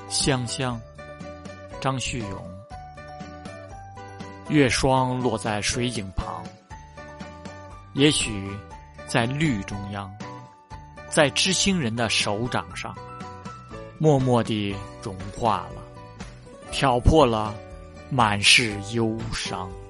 香香，张旭勇。月霜落在水井旁，也许在绿中央，在知心人的手掌上，默默地融化了，挑破了满是忧伤。